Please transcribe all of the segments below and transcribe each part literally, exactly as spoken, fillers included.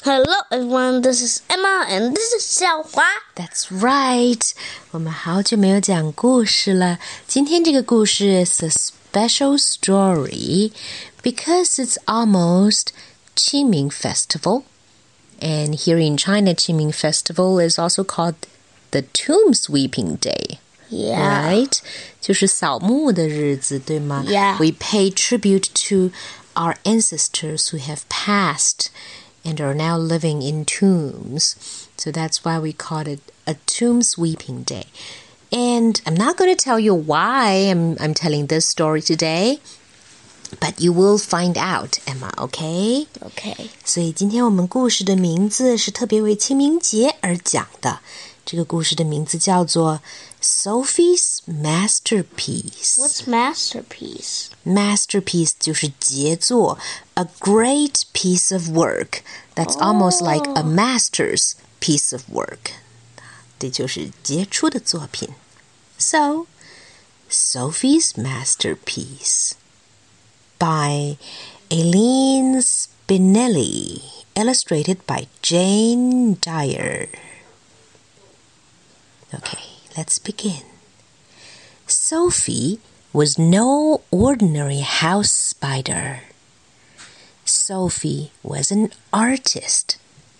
Hello everyone, this is Emma and this is 小华。 That's right. 我们好久没有讲故事了。今天这个故事 is a special story because it's almost Qingming Festival. And here in China, Qingming Festival is also called the Tomb Sweeping Day. Yeah. Right? 就是扫墓的日子，对吗？ Yeah. We pay tribute to our ancestors who have passed and are now living in tombs. So that's why we call it a tomb sweeping day. And I'm not going to tell you why I'm, I'm telling this story today, but you will find out, Emma, okay? Okay. 所以今天我们故事的名字是特别为清明节而讲的。这个故事的名字叫做 Sophie's Masterpiece. What's masterpiece? Masterpiece 就是杰作 a great piece of work. That's almost like a master's piece of work. 这就是杰出的作品。So, Sophie's Masterpiece by Eileen Spinelli, illustrated by Jane Dyer. Okay, let's begin. Sophie was no ordinary house spider. Sophie was an artist.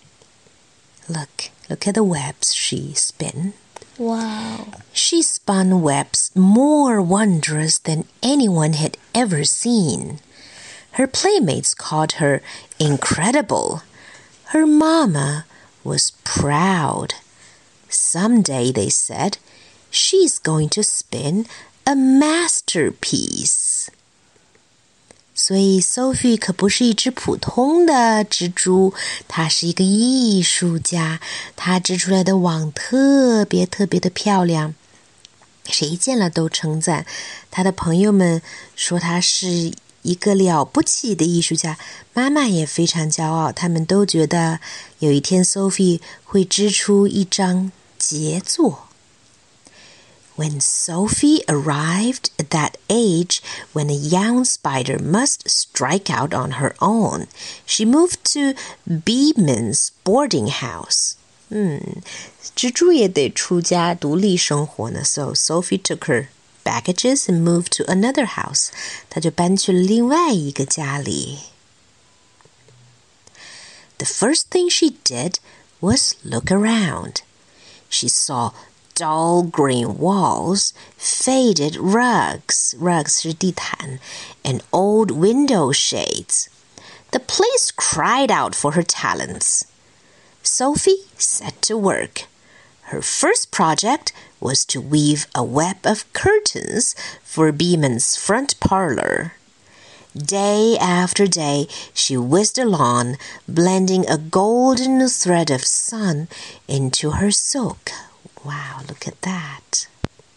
Look, look at the webs she spun. Wow. She spun webs more wondrous than anyone had ever seen. Her playmates called her incredible. Her mama was proud. Someday, they said, she's going to spin a masterpiece. 所以 Sophie 可不是一只普通的蜘蛛，她是一个艺术家，她织出来的网特别特别的漂亮，谁见了都称赞。她的朋友们说她是一个了不起的艺术家，妈妈也非常骄傲，他们都觉得有一天 Sophie 会织出一张杰作。When Sophie arrived at that age when a young spider must strike out on her own, she moved to Beeman's boarding house. 嗯，蜘蛛也得出家独立生活呢。So Sophie took her baggages and moved to another house. 她就搬去了另外一个家里。The first thing she did was look around. She saw dull green walls, faded rugs, rugs 是地毯, and old window shades. The place cried out for her talents. Sophie set to work. Her first project was to weave a web of curtains for Beeman's front parlor. Day after day, she whizzed along, blending a golden thread of sun into her silk.Wow, look at that.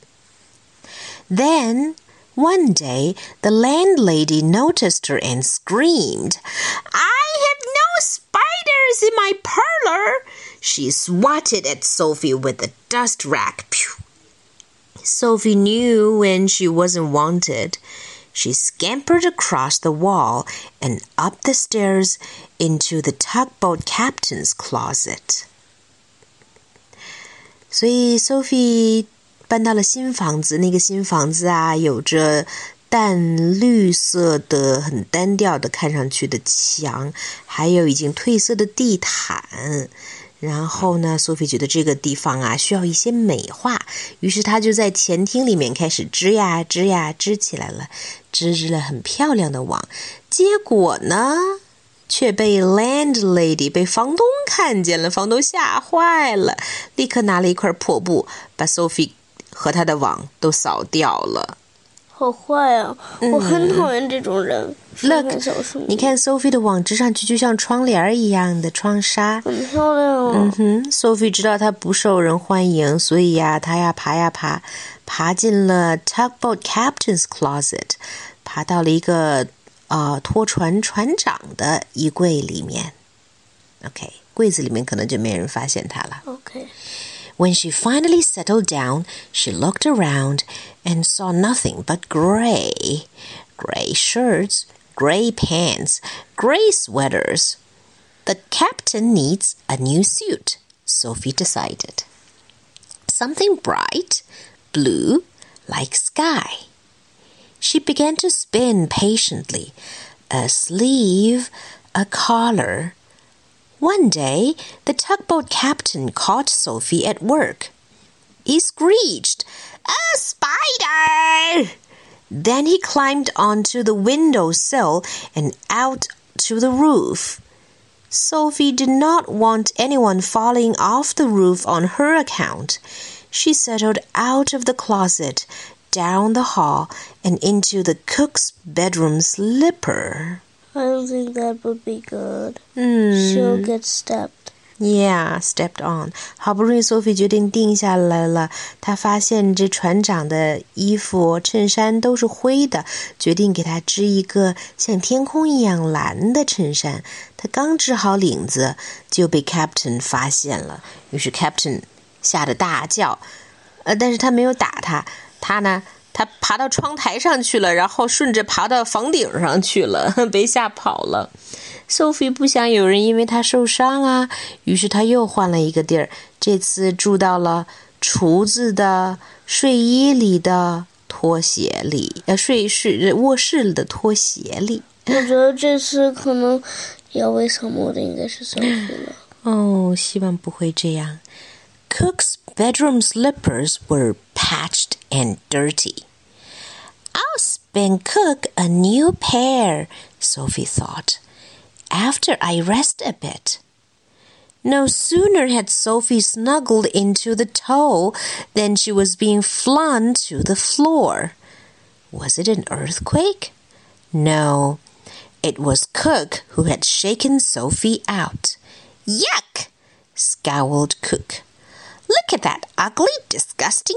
Then, one day, the landlady noticed her and screamed, I have no spiders in my parlor. She swatted at Sophie with a dust rag. Pew. Sophie knew when she wasn't wanted. She scampered across the wall and up the stairs into the tugboat captain's closet.所以 Sophie 搬到了新房子，那个新房子啊，有着淡绿色的很单调的看上去的墙，还有已经褪色的地毯。然后呢 Sophie 觉得这个地方啊需要一些美化，于是她就在前厅里面开始织呀织呀织起来了，织织了很漂亮的网。结果呢却被 landlady 被房东看见了，房东吓坏了，立刻拿了一块破布把 Sophie 和她的网都扫掉了。 好坏啊、嗯、我很讨厌这种人。 Look, 你看 Sophie 的网织上去就像窗帘一样的窗纱， 很漂亮哦。 嗯哼 Sophie 知道她不受人欢迎，所以呀她呀爬呀爬，爬进了 tugboat captain's closet， 爬到了一个呃，拖船船长的衣柜里面。OK， 柜子里面可能就没人发现她了。 OK. When she finally settled down, she looked around and saw nothing but gray. Gray shirts, gray pants, gray sweaters. The captain needs a new suit, Sophie decided. Something bright, blue, like sky. She began to spin patiently, a sleeve, a collar. One day, the tugboat captain caught Sophie at work. He screeched, "A spider!" Then he climbed onto the windowsill and out to the roof. Sophie did not want anyone falling off the roof on her account. She settled out of the closet, down the hall, and into the cook's bedroom slipper. I don't think that would be good. Mm. She'll get stepped.Yeah, stepped on. 好不容易 Sophie 决定定下来了，她发现这船长的衣服衬衫都是灰的，决定给他织一个像天空一样蓝的衬衫。她刚织好领子就被 Captain 发现了，于是 Captain 吓得大叫，呃，但是他没有打他，他呢他爬到窗台上去了，然后顺着爬到房顶上去了，被吓跑了。Sophie 不想有人因为她受伤啊，于是她又换了一个地儿，这次住到了厨子的睡衣里的拖鞋里，呃，睡室卧室里的拖鞋里。 我觉得这次可能要为什么的应该是 Sophie 了。 哦，希望不会这样。Cook's bedroom slippers were patched and dirty.I'll spin Cook a new pair, Sophie thought, after I rest a bit. No sooner had Sophie snuggled into the toe than she was being flung to the floor. Was it an earthquake? No, it was Cook who had shaken Sophie out. Yuck! Scowled Cook. Look at that ugly, disgusting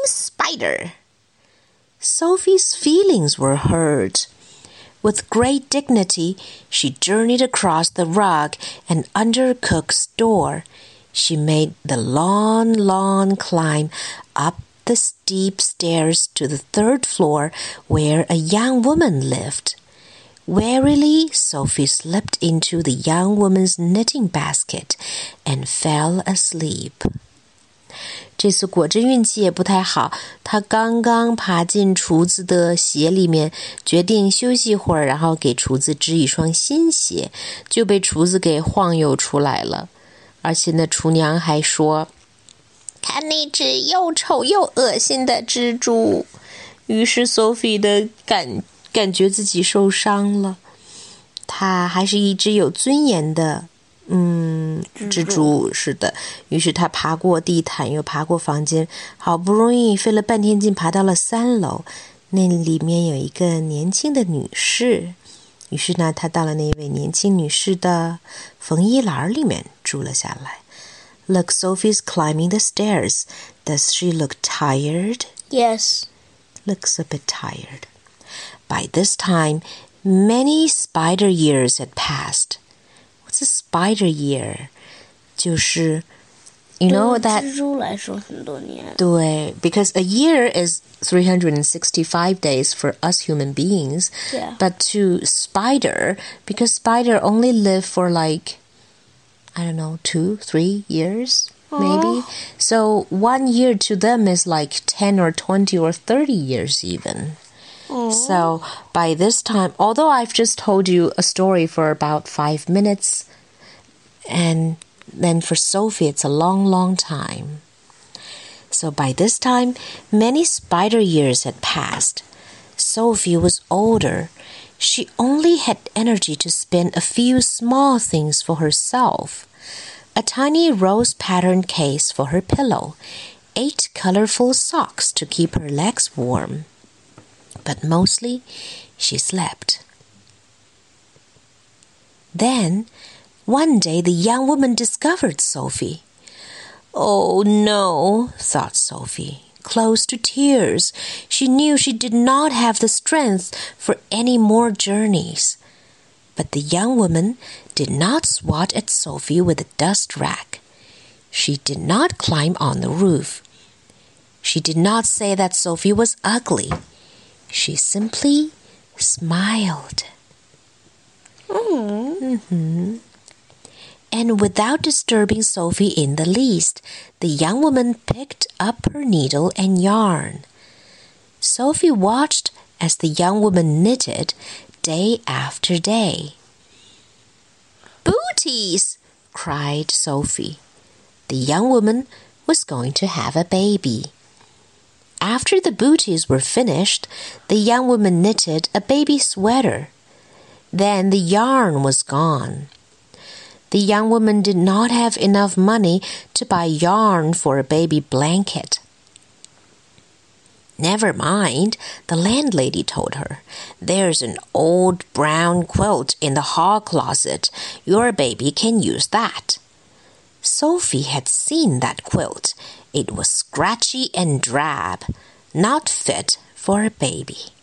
spider.Sophie's feelings were hurt. With great dignity, she journeyed across the rug and under Cook's door. She made the long, long climb up the steep stairs to the third floor where a young woman lived. Warily, Sophie slipped into the young woman's knitting basket and fell asleep.这次果真运气也不太好，他刚刚爬进厨子的鞋里面，决定休息会儿，然后给厨子织一双新鞋，就被厨子给晃悠出来了。而且呢，厨娘还说，看那只又丑又恶心的蜘蛛。于是 Sophie 的感感觉自己受伤了。她还是一只有尊严的嗯，蜘蛛是的，于是他爬过地毯，又爬过房间，好不容易费了半天劲爬到了三楼，那里面有一个年轻的女士，于是呢，他到了那位年轻女士的缝衣篮里面住了下来。Look, Sophie's climbing the stairs. Does she look tired? Yes. Looks a bit tired. By this time, many spider years had passed.What's a spider year? 就是 you know that 蜘蛛来说很多年。 对 because a year is three hundred sixty-five days for us human beings. Yeah. But to spider, because spider only live for like I don't know, two, three years maybe. So one year to them is like ten or twenty or thirty years even.So by this time, although I've just told you a story for about five minutes, and then for Sophie, it's a long, long time. So by this time, many spider years had passed. Sophie was older. She only had energy to spin a few small things for herself. A tiny rose-patterned case for her pillow, eight colorful socks to keep her legs warm.But mostly, she slept. Then, one day the young woman discovered Sophie. Oh no, thought Sophie, close to tears. She knew she did not have the strength for any more journeys. But the young woman did not swat at Sophie with a dust rag. She did not climb on the roof. She did not say that Sophie was ugly.She simply smiled. Mm. Mm-hmm. And without disturbing Sophie in the least, the young woman picked up her needle and yarn. Sophie watched as the young woman knitted day after day. "Booties!" cried Sophie. The young woman was going to have a baby. After the booties were finished, the young woman knitted a baby sweater. Then the yarn was gone. The young woman did not have enough money to buy yarn for a baby blanket. "Never mind," the landlady told her. "There's an old brown quilt in the hall closet. Your baby can use that." Sophie had seen that quilt. It was scratchy and drab, not fit for a baby.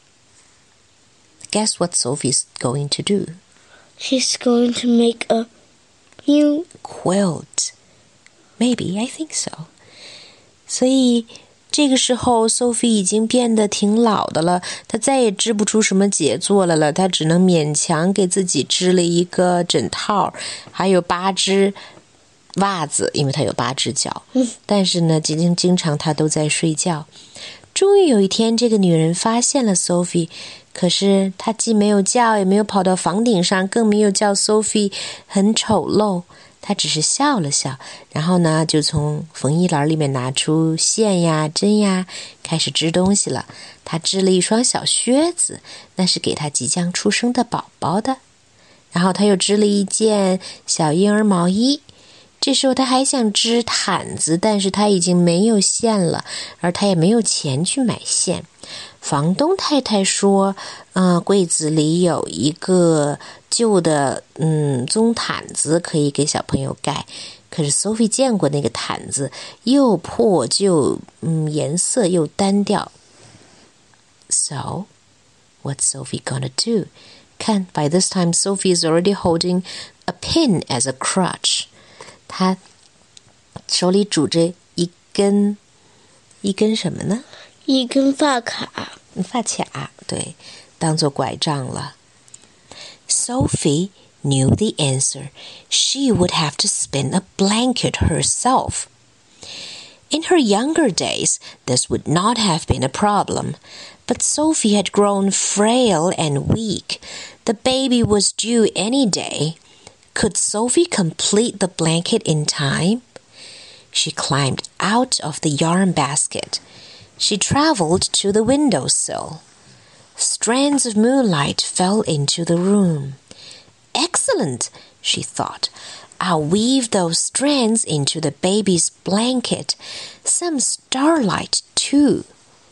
Guess what Sophie's going to do? She's going to make a new quilt. Maybe, I think so. 所以这个时候 Sophie 已经变得挺老的了，她再也织不出什么杰作来了，她只能勉强给自己织了一个枕套，还有八只袜子，因为她有八只脚。但是呢，经经常她都在睡觉。终于有一天，这个女人发现了 Sophie， 可是她既没有叫，也没有跑到房顶上，更没有叫 Sophie 很丑陋。她只是笑了笑，然后呢，就从缝衣篮里面拿出线呀、针呀，开始织东西了。她织了一双小靴子，那是给她即将出生的宝宝的。然后她又织了一件小婴儿毛衣。这时候她还想织毯子，但是她已经没有线了，而她也没有钱去买线。房东太太说，呃，柜子里有一个旧的嗯棕毯子可以给小朋友盖。可是 Sophie 见过那个毯子，又破旧，嗯，颜色又单调。So, what's Sophie gonna do? 看 by this time Sophie is already holding a pin as a crutch. 她手里拄着一根一根什么呢？ 一根发卡， 发卡，对，当作拐杖了。Sophie knew the answer. She would have to spin a blanket herself. In her younger days, this would not have been a problem. But Sophie had grown frail and weak. The baby was due any day. Could Sophie complete the blanket in time? She climbed out of the yarn basket. She traveled to the windowsill. Strands of moonlight fell into the room. Excellent, she thought. I'll weave those strands into the baby's blanket. Some starlight, too.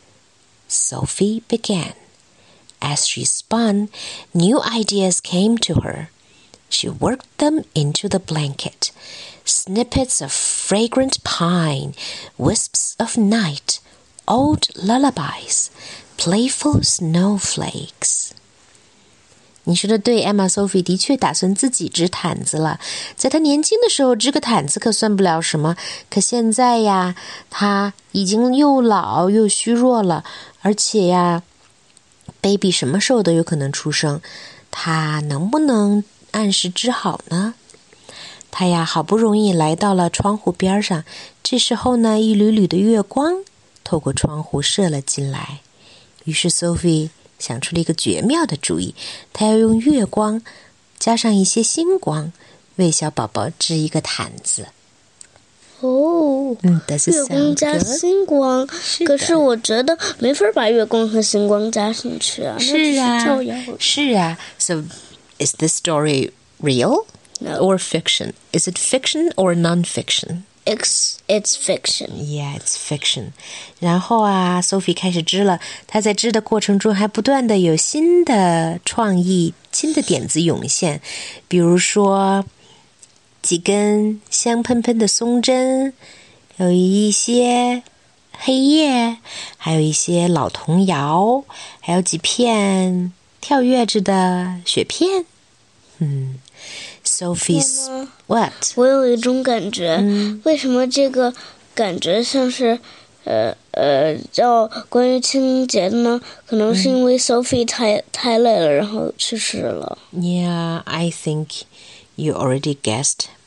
Sophie began. As she spun, new ideas came to her. She worked them into the blanket. Snippets of fragrant pine, wisps of night, old lullabies, playful snowflakes. 你说的对，艾玛 Sophie 的确打算自己织毯子了。在她年轻的时候，织个毯子可算不了什么。可现在呀，她已经又老又虚弱了，而且呀 ，baby 什么时候都有可能出生，她能不能按时织好呢？她呀，好不容易来到了窗户边上，这时候呢，一缕缕的月光透过窗户射了进来。于是 Sophie 想出了一个绝妙的主意，她要用月光加上一些星光，为小宝宝织一个毯子。 哦， 嗯 ，Does it sound good? 月光加星光， 是可是我觉得没法把月光和星光加进去啊。 是啊， 那只是是啊。So, is this story real No. or fiction? Is it fiction or non-fiction? It's it's fiction. Yeah, it's fiction. 然后啊 ，Sophie 开始织了。她在织的过程中还不断的有新的创意、新的点子涌现，比如说几根香喷喷的松针，有一些黑叶，还有一些老童谣，还有几片跳跃着的雪片。嗯。Sophie's what？ 我有一种感觉， 嗯、 为什么这个感觉像是，呃呃，叫关于清明节的呢？可能是因为 Sophie 太、嗯、太累了，然后去世了。 Yeah, I think you already guessed.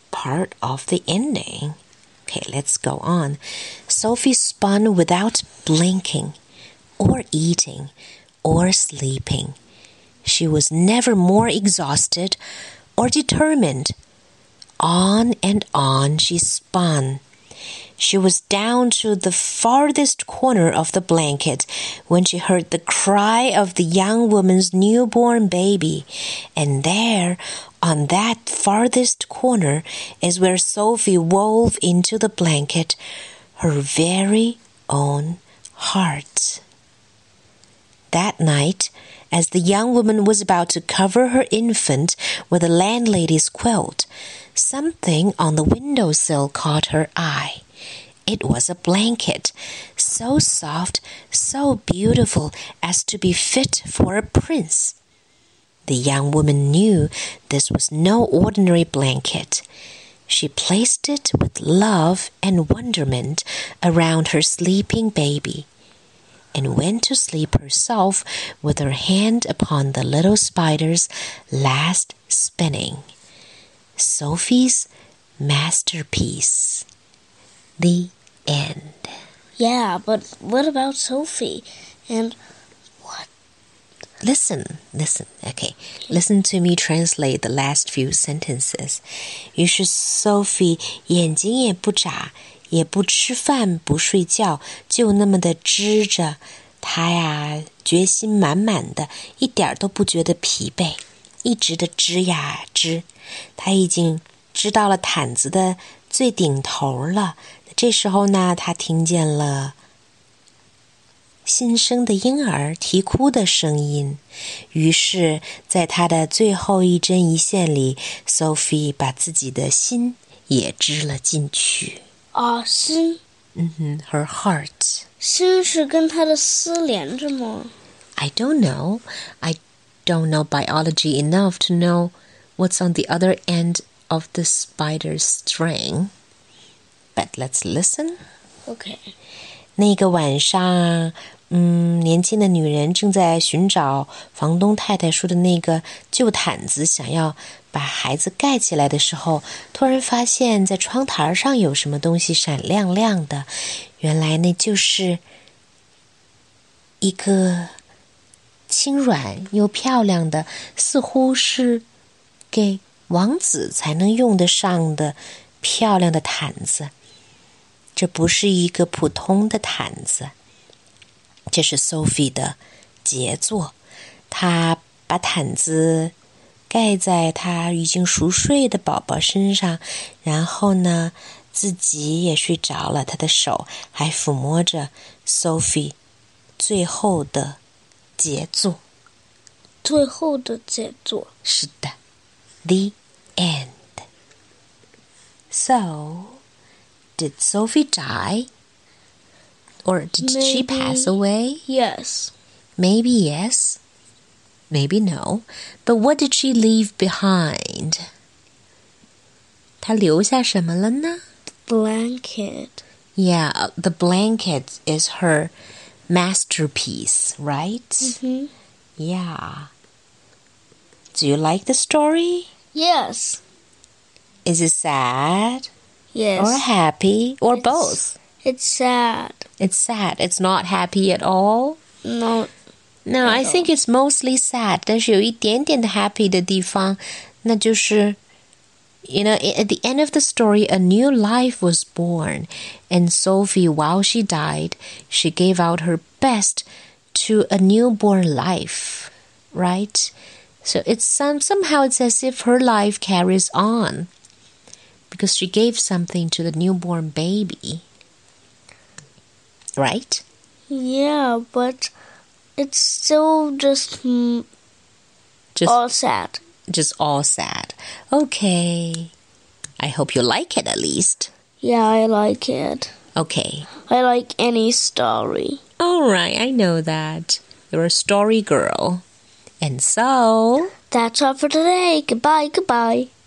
part of the ending. Okay, let's go on. Sophie spun without blinking, or eating, or sleeping. She was never more exhausted or determined. On and on she spun. She was down to the farthest corner of the blanket when she heard the cry of the young woman's newborn baby. And there, on that farthest corner, is where Sophie wove into the blanket her very own heart. That night, as the young woman was about to cover her infant with the landlady's quilt, something on the windowsill caught her eye. It was a blanket, so soft, so beautiful as to be fit for a prince. The young woman knew this was no ordinary blanket. She placed it with love and wonderment around her sleeping baby, and went to sleep herself with her hand upon the little spider's last spinning. Sophie's masterpiece. The end. Yeah, but what about Sophie? And what? Listen, listen, okay. Listen to me translate the last few sentences. 于是 Sophie 眼睛也不眨，也不吃饭，不睡觉，就那么的织着。她呀，决心满满的，一点都不觉得疲惫，一直的织呀织。她已经织到了毯子的最顶头了。这时候呢，她听见了新生的婴儿啼哭的声音，于是在她的最后一针一线里 Sophie 把自己的心也织了进去。 啊，心？ 嗯哼 her heart。 心是跟她的丝连着吗？ I don't know. I don't know biology enough to know what's on the other end of the spider's string. But let's listen. Okay. 那个晚上，嗯，年轻的女人正在寻找房东太太说的那个旧毯子，想要把孩子盖起来的时候，突然发现在窗台上有什么东西闪亮亮的。原来那就是一个轻软又漂亮的，似乎是给王子才能用得上的漂亮的毯子。这不是一个普通的毯子，这是 Sophie 的杰作。她把毯子盖在她已经熟睡的宝宝身上，然后呢，自己也睡着了，她的手还抚摸着 Sophie 最后的杰作。 最后的杰作。 是的。 The end. So, did Sophie die? Or did Maybe, she pass away? Yes. Maybe yes. Maybe no. But what did she leave behind? 她留下什么了呢？ Blanket. Yeah, the blanket is her masterpiece, right? Mm-hmm. Yeah. Do you like the story? Yes. Is it sad? Yes. Or happy? Or It's- both? It's sad. It's sad. It's not happy at all? No. No, I think it's mostly sad. 但是有一点点的 happy 的地方，那就是 You know, at the end of the story, a new life was born. And Sophie, while she died, she gave out her best to a newborn life. Right? So it's some, somehow it's as if her life carries on. Because she gave something to the newborn baby. Right? Yeah, but it's still just, mm, Just all sad. just all sad. Okay. I hope you like it at least. Yeah, I like it. Okay. I like any story. All right, I know that. You're a story girl. And so... That's all for today. Goodbye, goodbye.